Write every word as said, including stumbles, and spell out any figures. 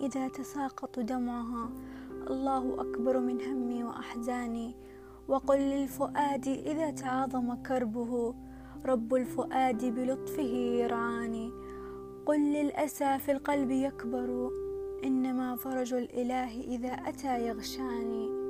إذا تساقط دمعها الله أكبر من همي وأحزاني. وقل للفؤاد إذا تعاظم كربه رب الفؤاد بلطفه يرعاني. قل للأسى في القلب يكبر إنما فرج الإله إذا أتى يغشاني.